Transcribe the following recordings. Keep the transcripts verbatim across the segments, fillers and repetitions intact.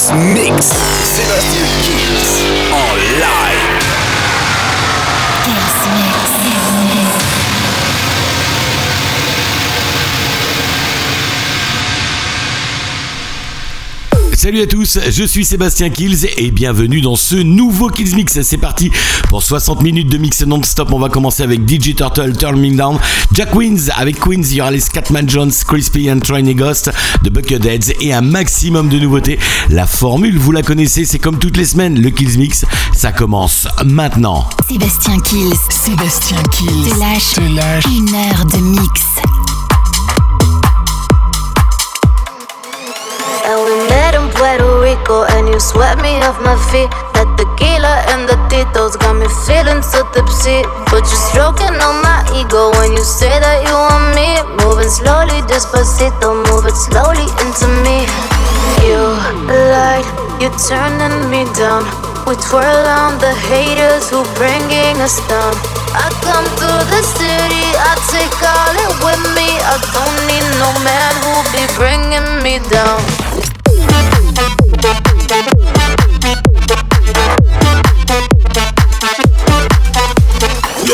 Kills Mix. Sébastien Kills en live. Kills Mix. Salut à tous, je suis Sébastien Kills et bienvenue dans ce nouveau Kills Mix. C'est parti pour soixante minutes de mix non-stop. On va commencer avec D J Turtle, Turn Me Down, Jack Queens. Avec Queens, il y aura les Scatman Jones, Crispy and Trainee Ghost, The Bucketheads et un maximum de nouveautés. La formule, vous la connaissez, c'est comme toutes les semaines. Le Kills Mix, ça commence maintenant. Sébastien Kills. Sébastien Kills. Te lâche, Te lâche une heure de mix. And we met in Puerto Rico and you swept me off my feet. That tequila and the Tito's got me feeling so tipsy. But you're stroking on my ego when you say that you want me. Moving slowly, despacito, move it slowly into me. You lied, you turning me down. We twirl on the haters who bringing us down. I come to the city, I take all it with me. I don't need no man who'll be bringing me down. Yo.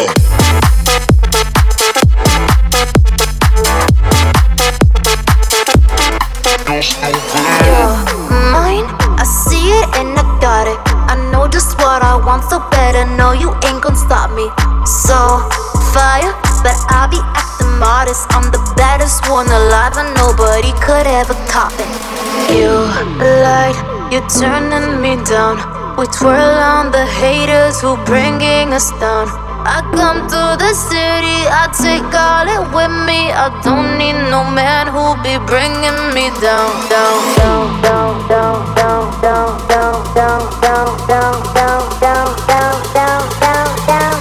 Mine, I see it and I got it. I know just what I want, so better know you ain't gon' stop me. So, fire, but I be acting modest. I'm the baddest one alive and nobody could ever top it. You lied, you turning me down. We twirl on the haters who bringing us down. I come to the city, I take all it with me. I don't need no man who'll be bringing me down, down, down, down, down, down, down, down, down, down, down, down, down, down, down, down, down.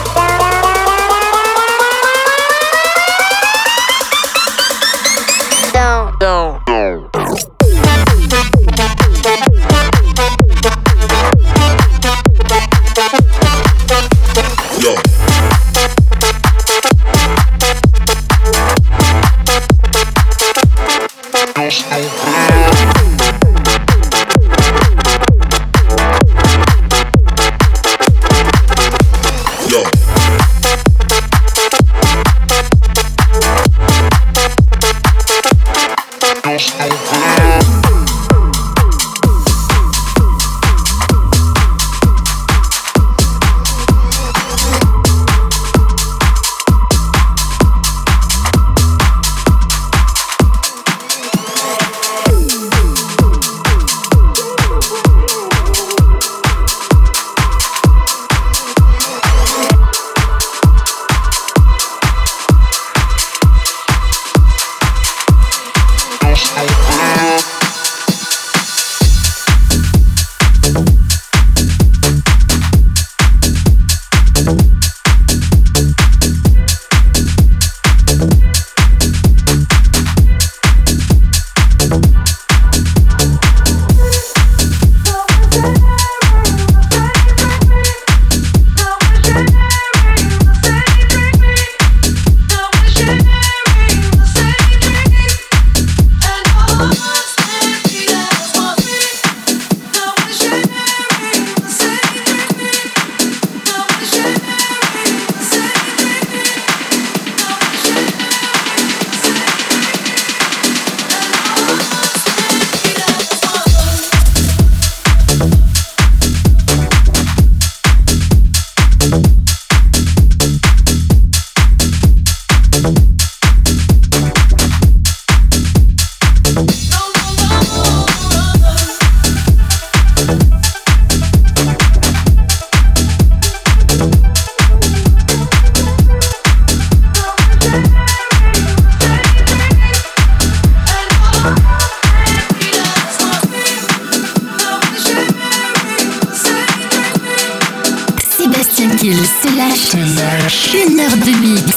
Une heure de mix.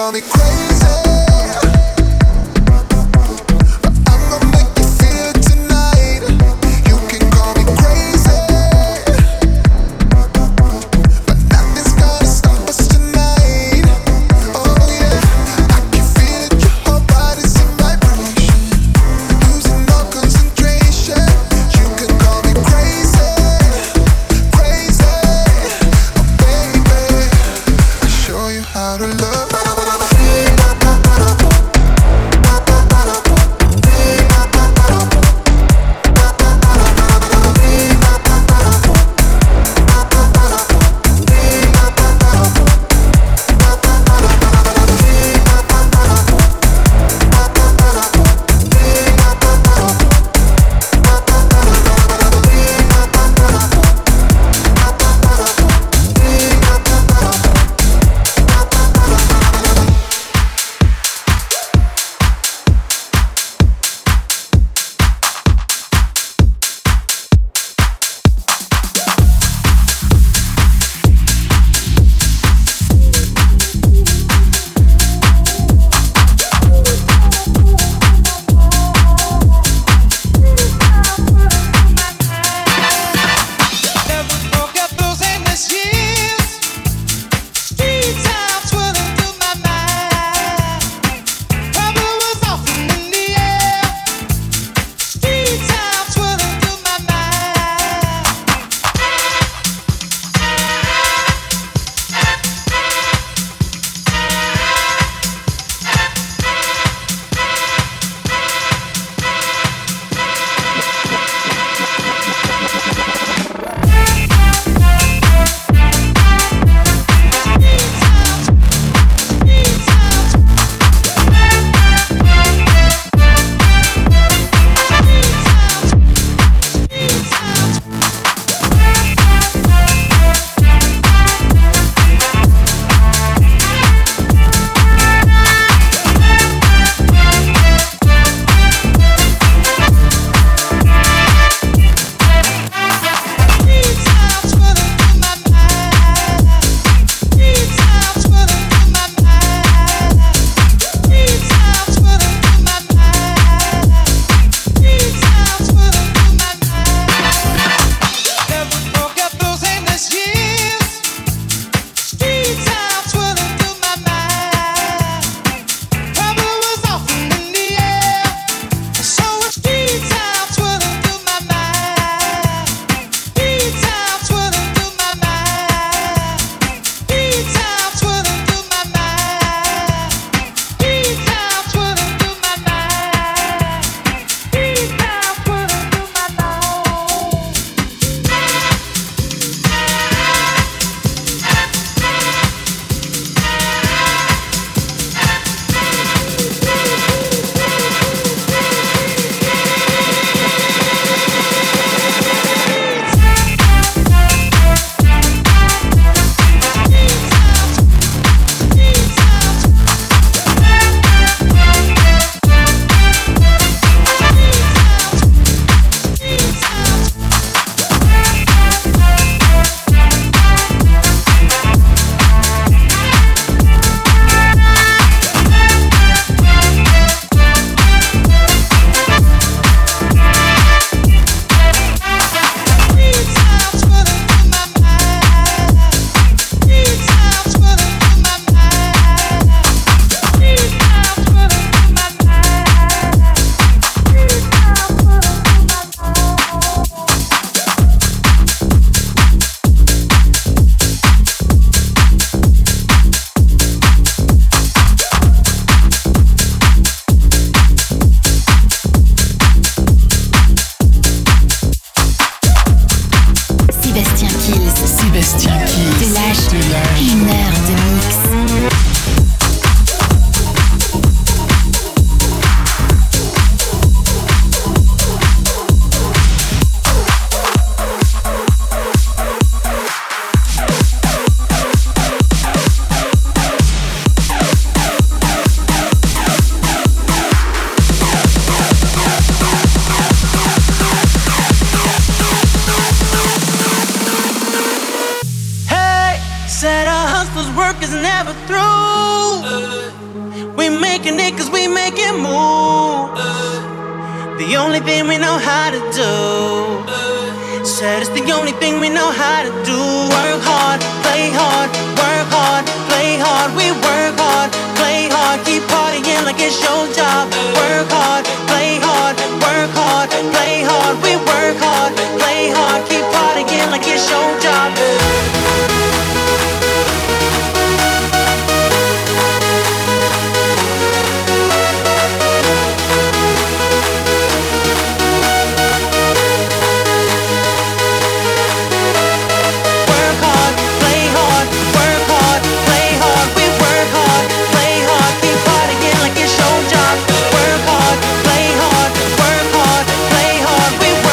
call me crazy. How to was worth work is never through. We making it cause we make it move. The only thing we know how to do. Said it's the only thing we know how to do. Work hard, play hard, work hard, play hard. We work hard, play hard, keep partying like it's your job. Work hard, play hard, work hard, play hard. We work hard, play hard, keep partying like it's your job. We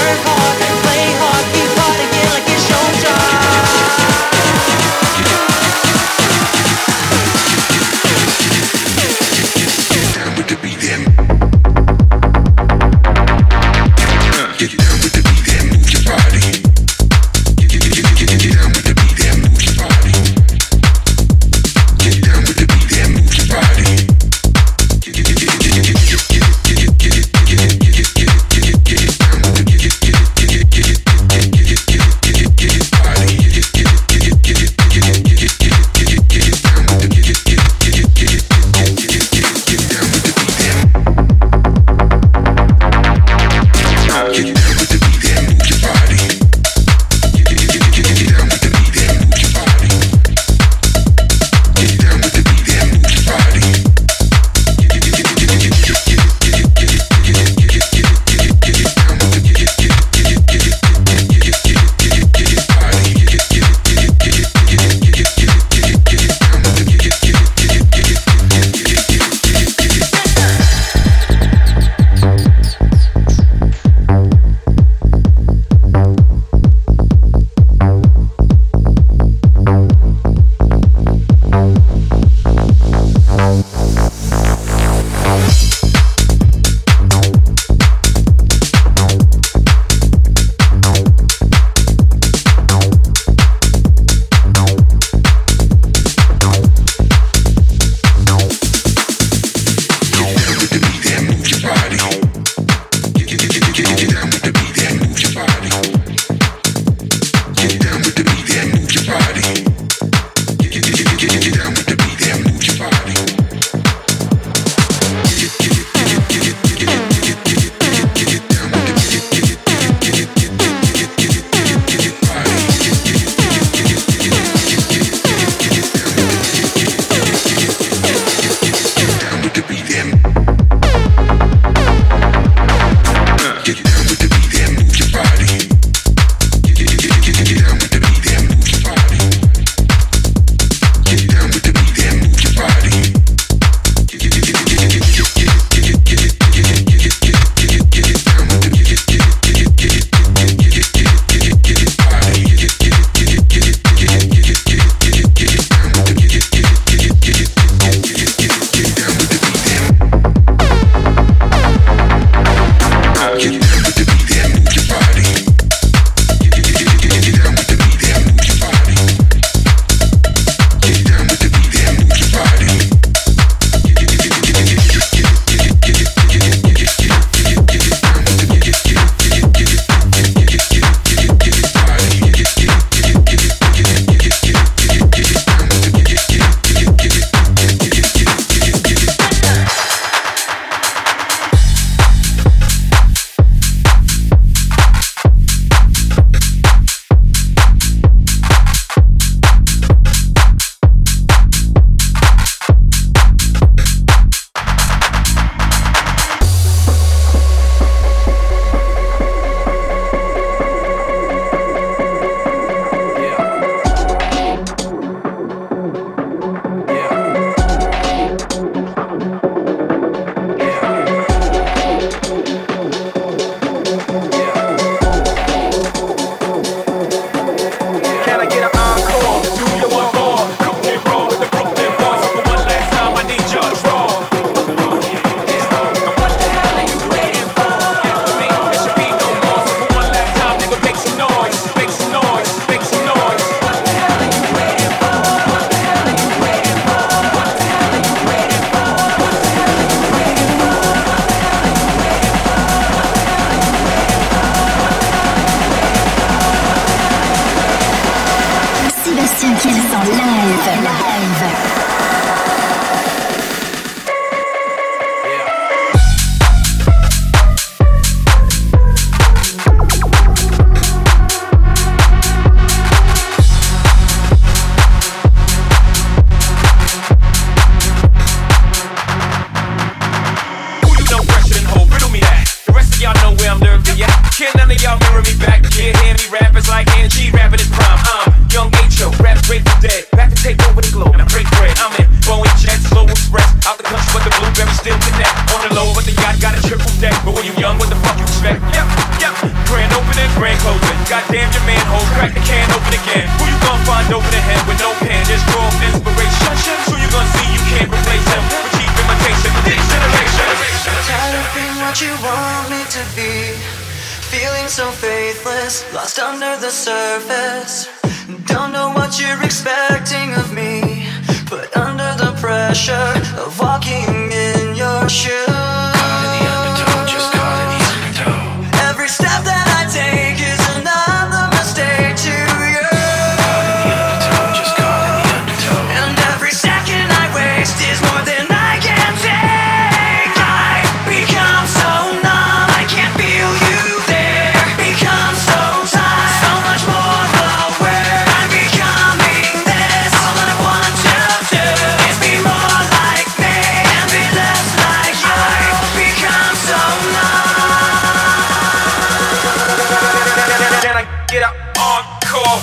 Sébastien Kills en live. Live. Can none of y'all mirror me back? Yeah, hear me rappers like N G rapping his prime. I'm young H O, rap Grateful Dead. Back to take over the globe, and I break bread. I'm in Boeing Jets, Global Express. Out the country, but the blueberries still connect. On the low, but the yacht got a triple deck. But when you young, what the fuck you expect? Yep, yep. Grand opening, grand closing. Goddamn your manhole, crack the can open again. Who you gonna find over the head with no pen? Just draw inspiration. Who you gonna see you can't replace him? With cheap imitation, this generation. Tired of being what you want me to be. Feeling so faithless, lost under the surface. Don't know what you're expecting of me, but under the pressure of walking in your shoes. Caught in the undertow, just caught in the undertow. Every step that I take is another mistake to you. Caught in the undertow, just caught in the undertow. And every second I waste is more than I can take. I become so numb, I can't feel you. Get up, encore.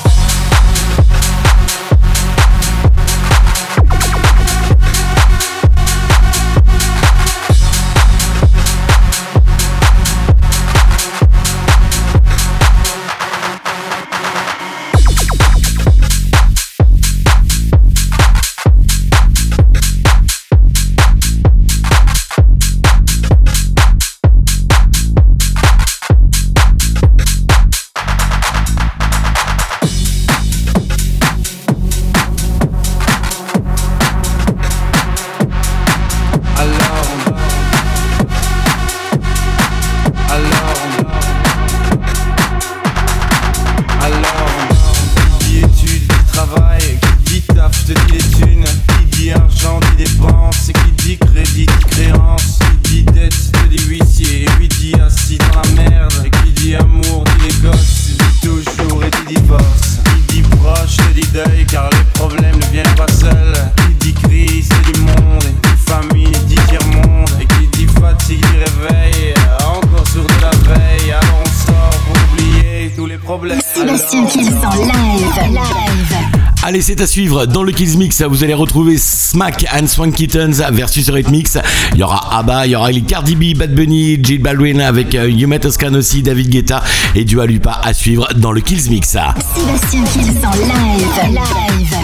Sébastien Kills en live. Live. Allez, c'est à suivre dans le Kills Mix. Vous allez retrouver Smack and Swank Kittens versus Rhythmix. Il y aura ABBA, il y aura les Cardi B, Bad Bunny, J Balvin avec euh, Yuma Toscano aussi, David Guetta et Dua Lipa à suivre dans le Kills Mix. Sébastien Kills en live. Live.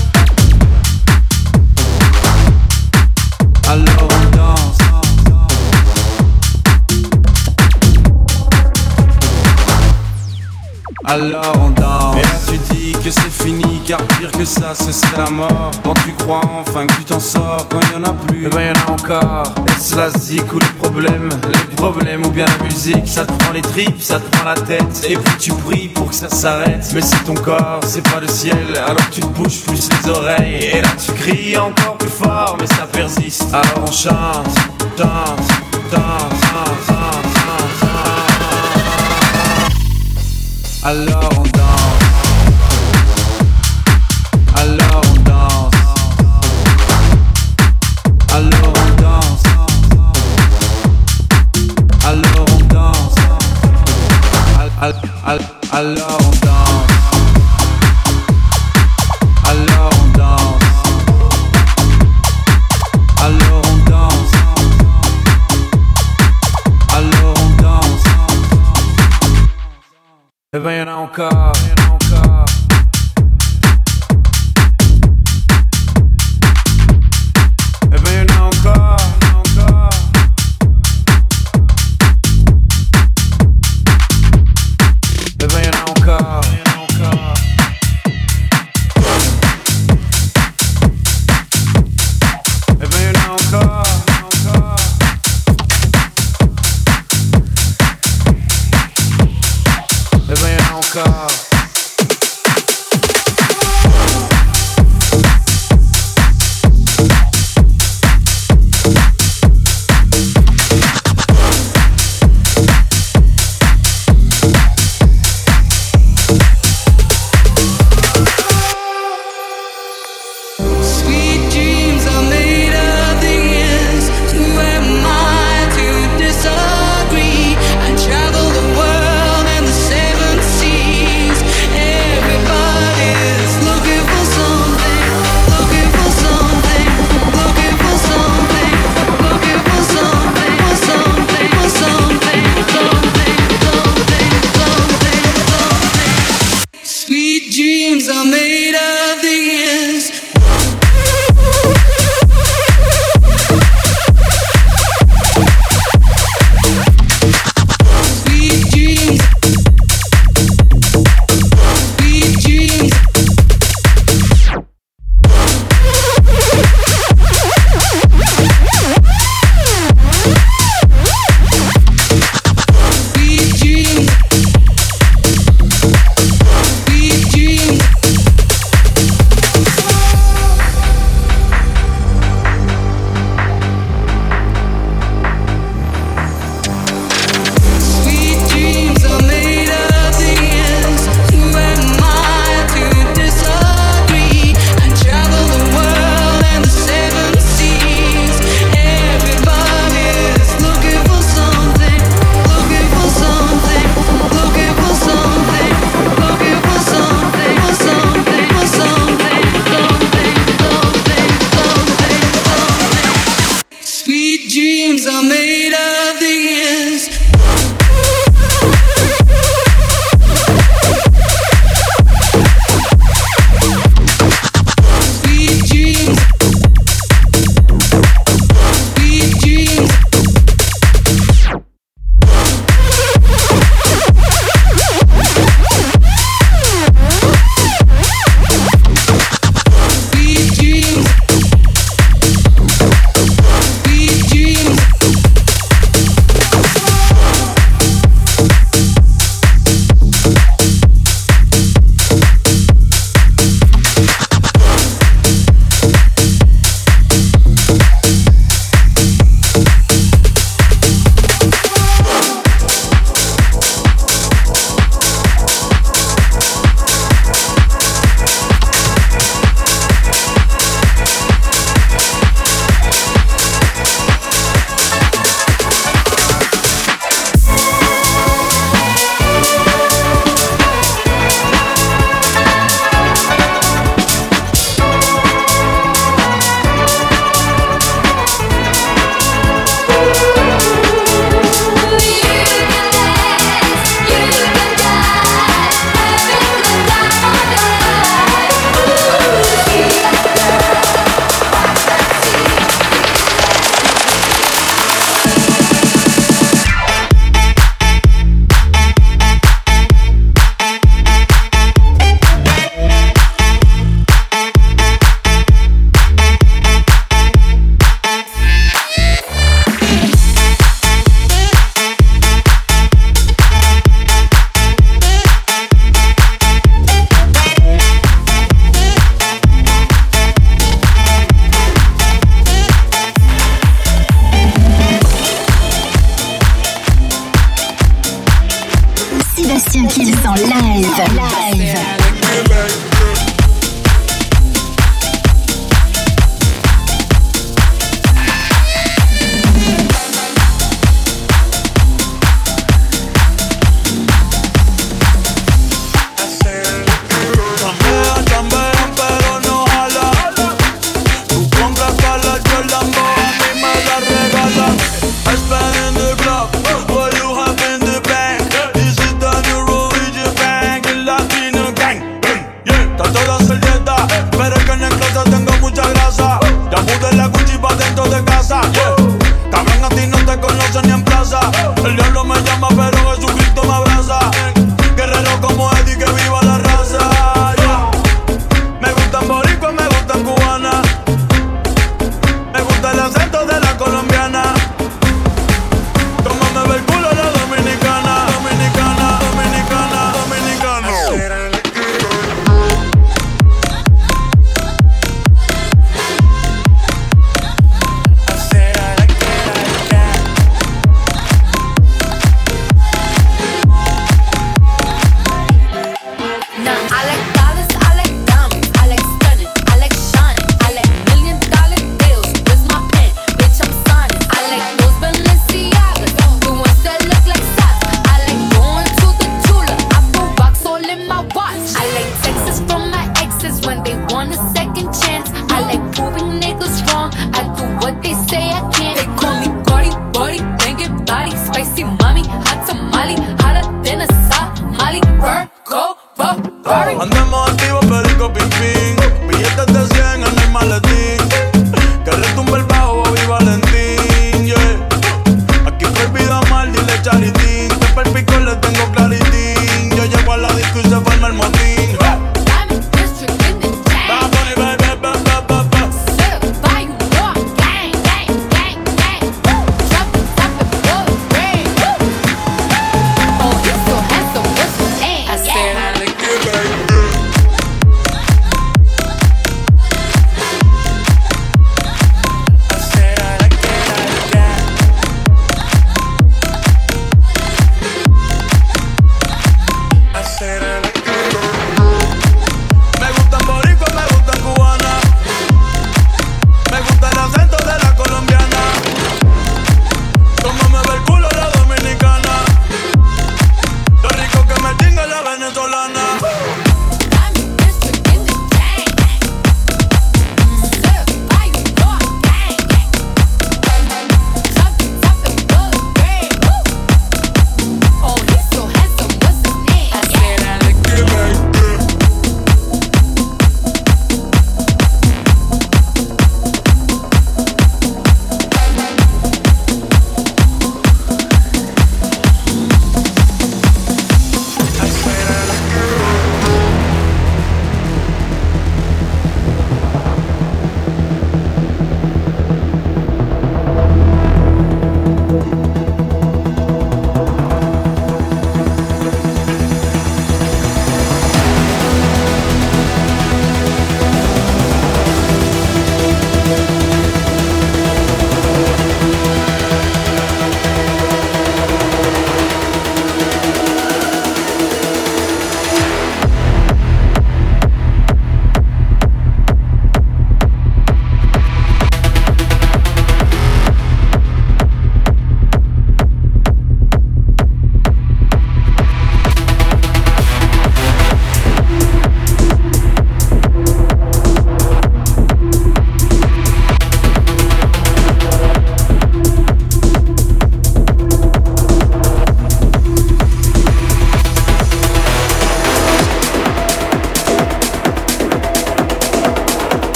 Alors on danse. Alors on danse. Et là tu dis que c'est fini, car pire que ça ce serait la mort. Quand tu crois enfin que tu t'en sors, quand il y en a plus, et ben y en a encore. Est-ce la zik ou les problèmes, les problèmes ou bien la musique. Ça te prend les tripes, ça te prend la tête. Et puis tu pries pour que ça s'arrête. Mais c'est ton corps, c'est pas le ciel. Alors tu te bouges plus les oreilles. Et là tu cries encore plus fort, mais ça persiste. Alors on chante, chante, chante, chante, chante, chante. Alors on danse. Alors on danse. Alors on danse. Alors on danse. Al, al, al, alors on danse. Alors on danse. Alors on danse. Alors on danse. Et ben y'en a encore. weight of the years. Sweet dreams. Sweet dreams. Sweet dreams.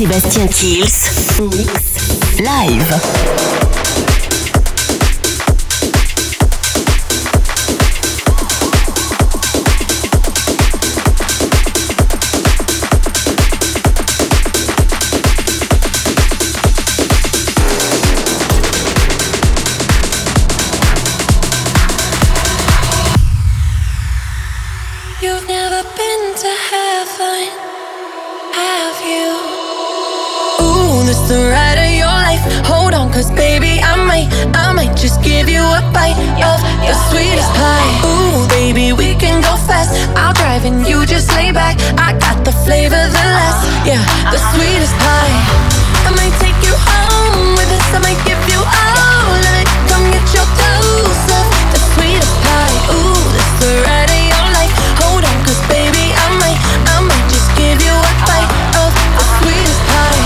Sébastien Kills, Mix Live. You've never been to heaven, have you? Ooh, this the ride of your life. Hold on, cause baby, I might, I might just give you a bite of the sweetest pie. Ooh, baby, we can go fast. I'll drive and you just lay back. I got the flavor, the last, yeah, the sweetest pie. I might take you home with us. I might give you all of it. Come get your dose of the sweetest pie. Ooh, this the ride of your life. Hold on, cause baby, I might, I might just give you a bite of the sweetest pie.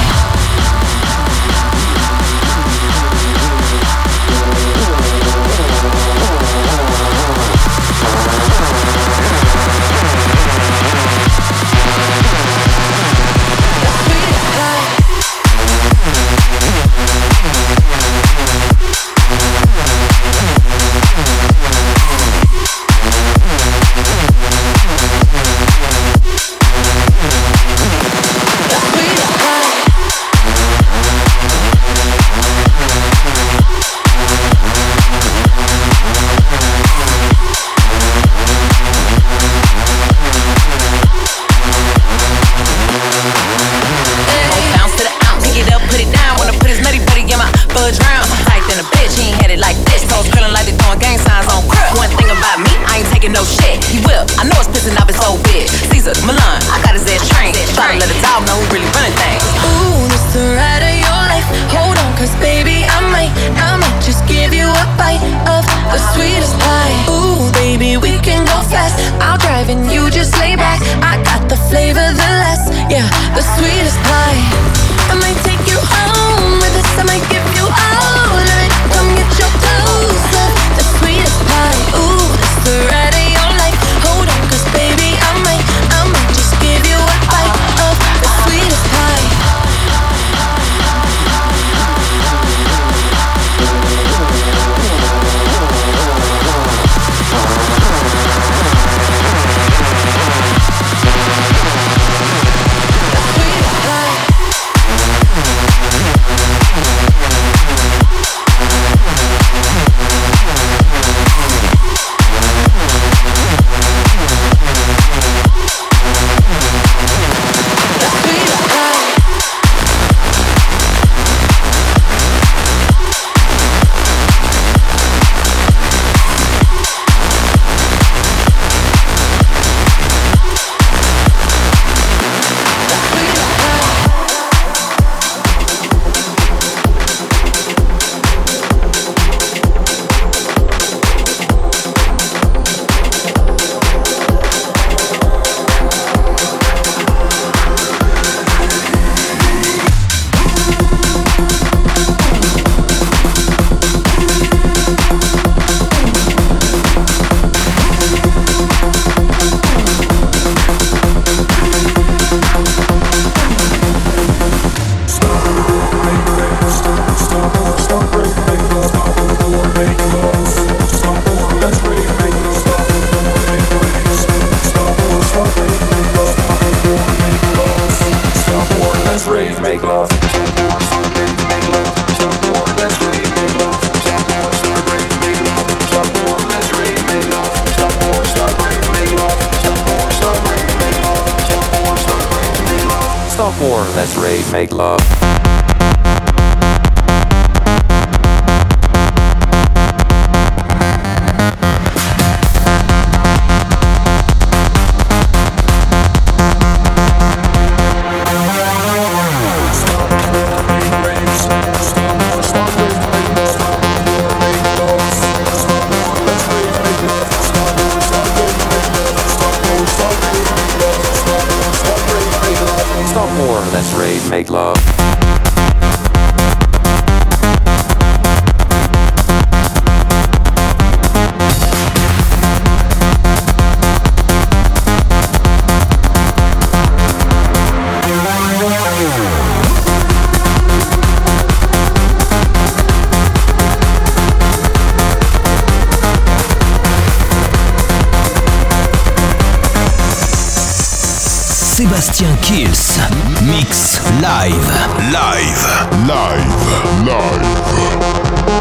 No shit, he will. I know it's pissing off his old bitch. Caesar, Milan, I got his ass trained. Try to let a dog know who really running things. Ooh, this the ride of your life. Hold on, cause baby, I might, I might just give you a bite of the sweetest pie. Ooh, baby, we can go fast. I'll drive and you just lay back. I got the flavor, the last, yeah, the sweetest pie. I might take you home with us. I might give you all of it. Come get your dose of the sweetest pie. Ooh, this the ride of your life. Hold on, cause baby, I might, I might just give you a bite of the sweetest pie. Let's rave, make love. Let's rave, make love. Sébastien Kills. Mix live. Live. Live. Live.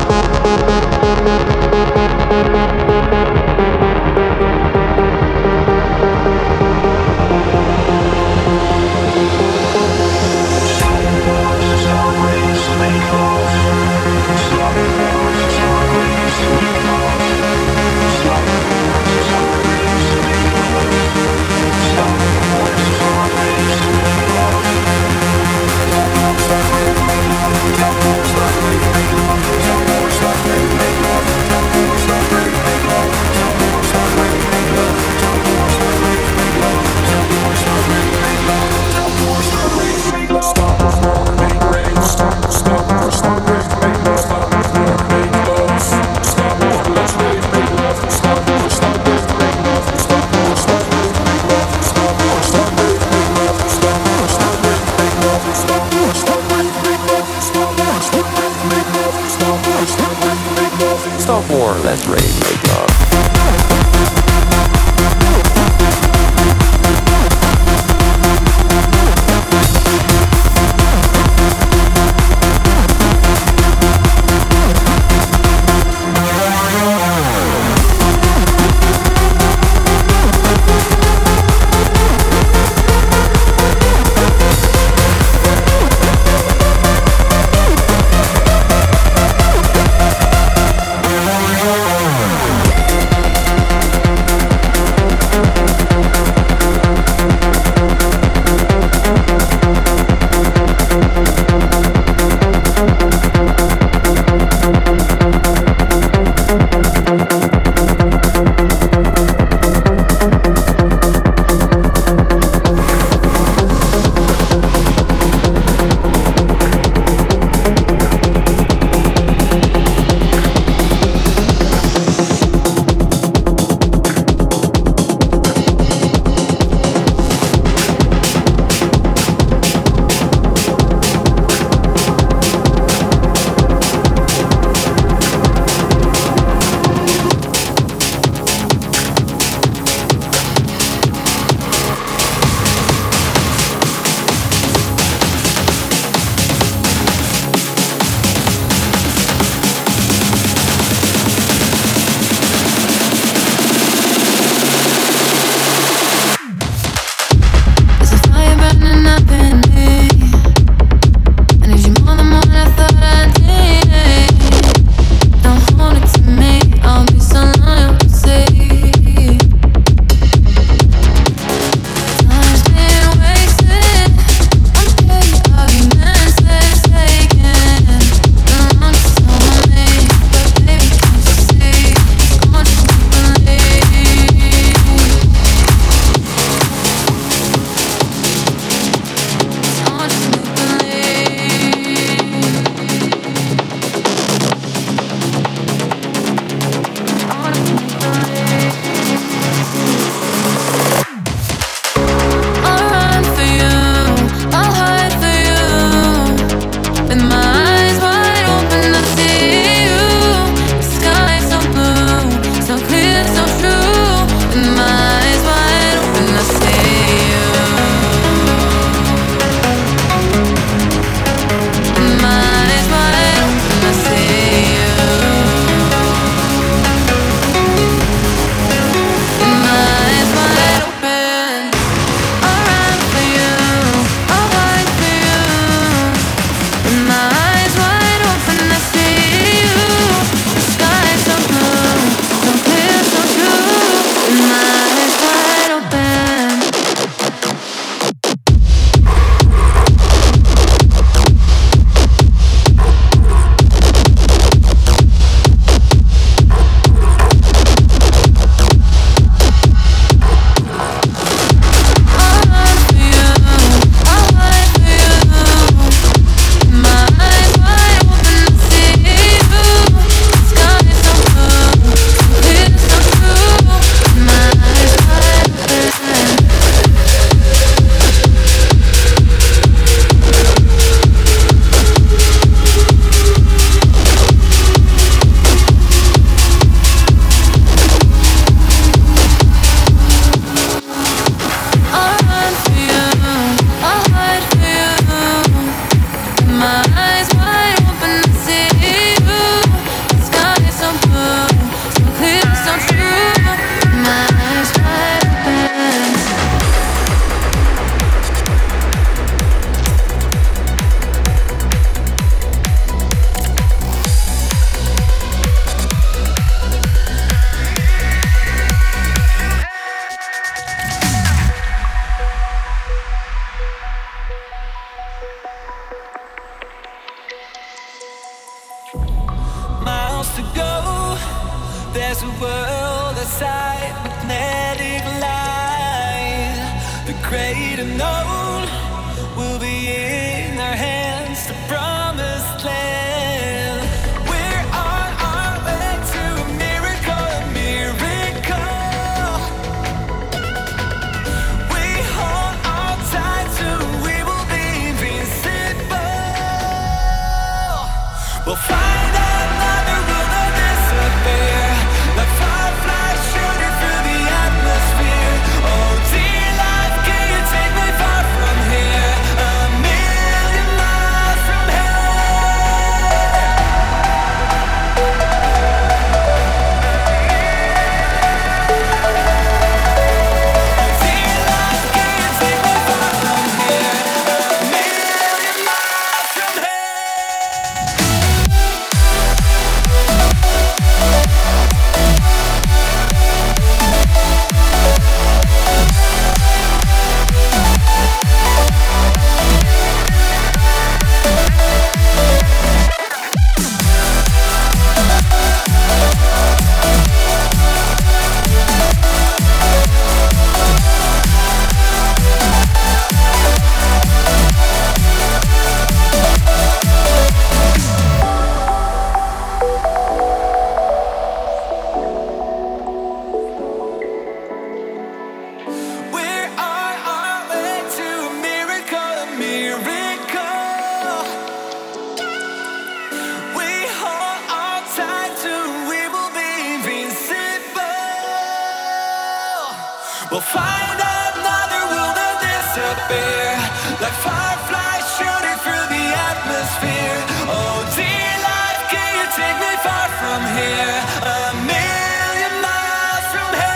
Stop war, let's rage, make love. We'll be right back. to go. There's a world outside, magnetic line. The great unknown will be in our hands, the promised land. We're on our way to a miracle, a miracle. We hold on tight to we will be invincible. We'll find another world that disappear, like fireflies shooting through the atmosphere. Oh dear life, can you take me far from here? A million miles from here. Oh dear life, can you take me far from here? A million miles from here. We're on our way to a miracle, a miracle. We hold on tight to we will be invincible. We'll find another world that disappear, like fireflies shooting through the atmosphere. Oh dear life, can you take me far from here? A million miles from here.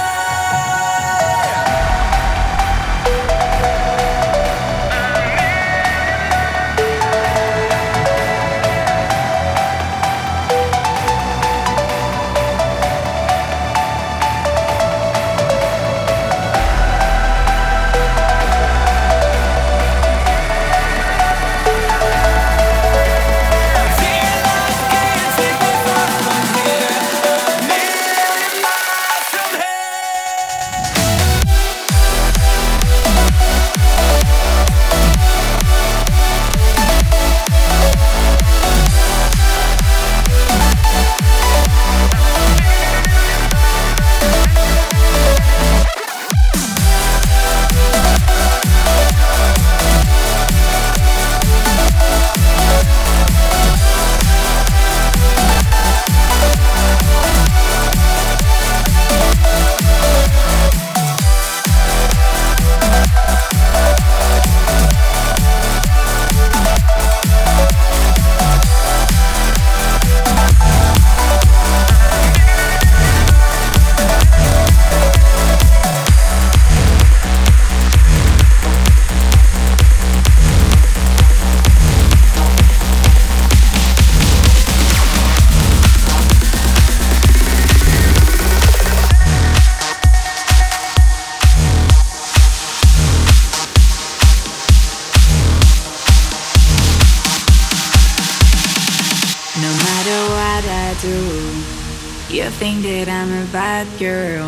No matter what I do, you think that I'm a bad girl.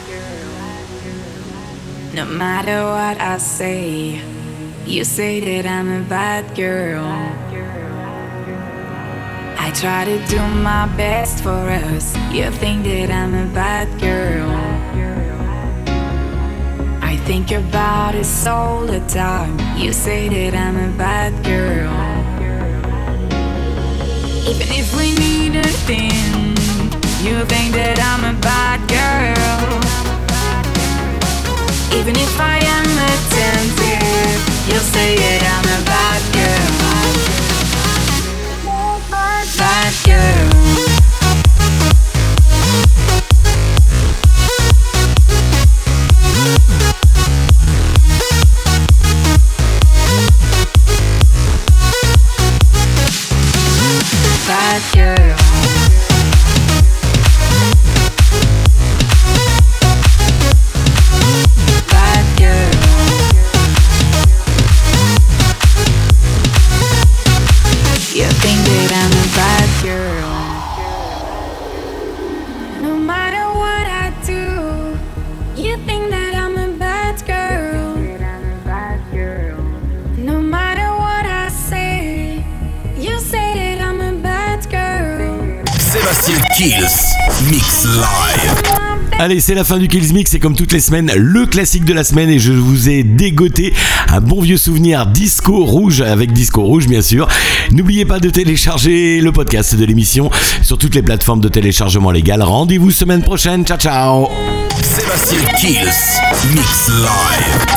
No matter what I say, you say that I'm a bad girl. I try to do my best for us, you think that I'm a bad girl. I think about us all the time, you say that I'm a bad girl. Even if we need a thing, you think that I'm a bad girl. Even if I am attentive, you'll say that I'm a bad girl. Bad girl. Bad girl. Bad girl. Kills Mix Live. Allez, c'est la fin du Kills Mix et comme toutes les semaines, le classique de la semaine et je vous ai dégoté un bon vieux souvenir Disco Rouge avec Disco Rouge bien sûr. N'oubliez pas de télécharger le podcast de l'émission sur toutes les plateformes de téléchargement légal. Rendez-vous semaine prochaine. Ciao ciao. Sébastien Kills Mix Live.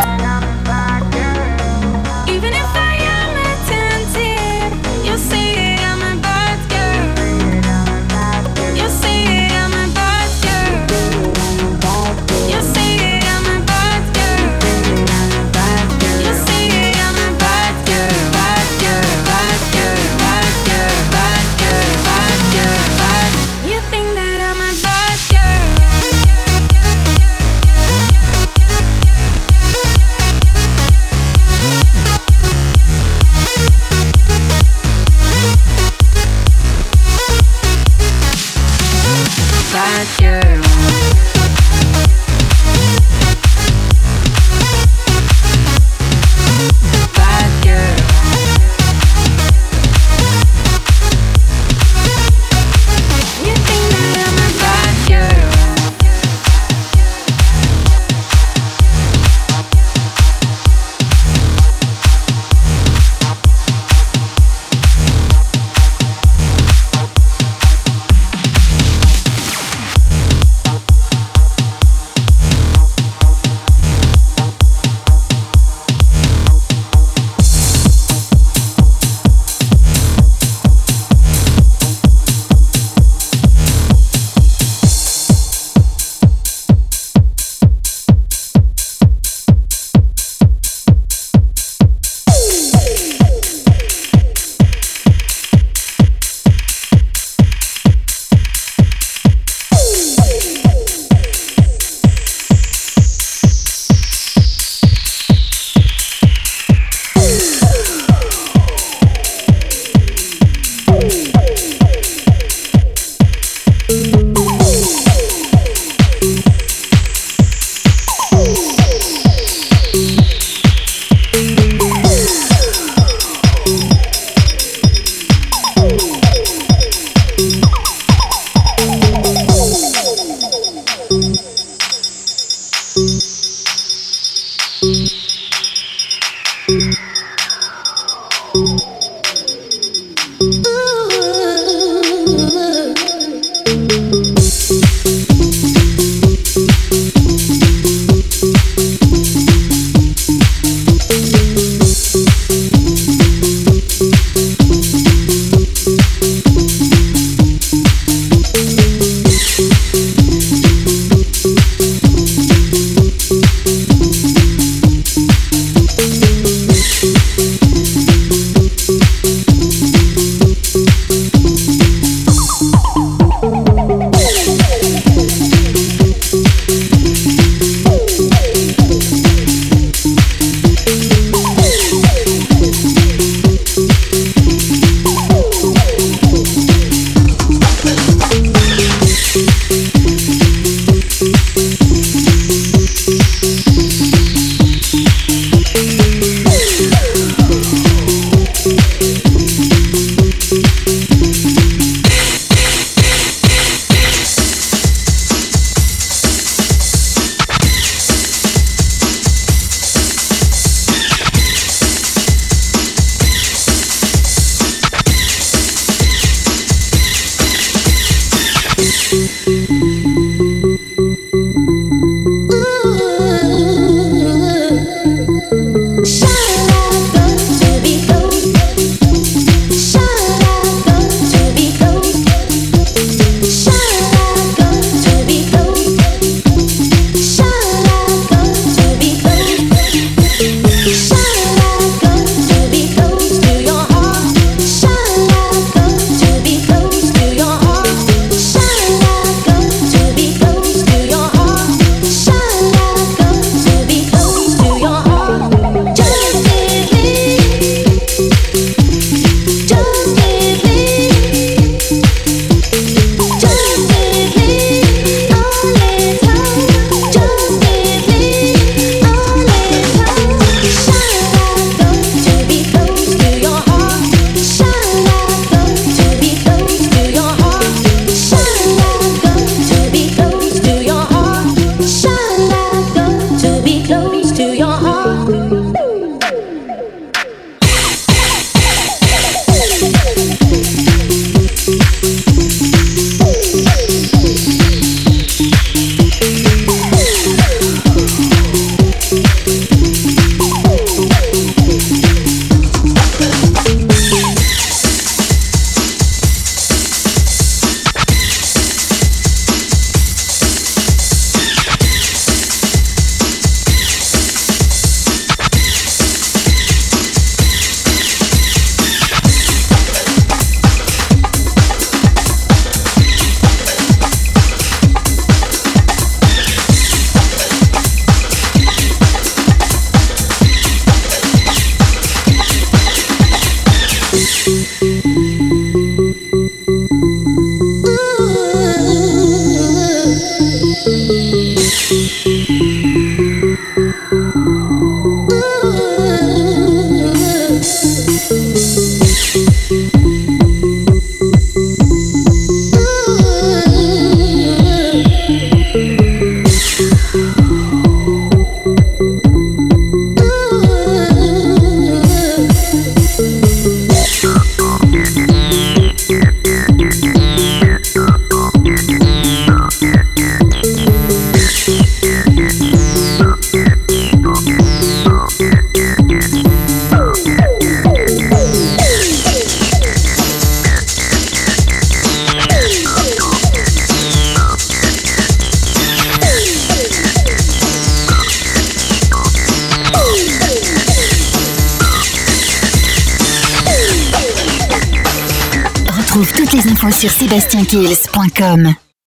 infos sur sébastien kills point com.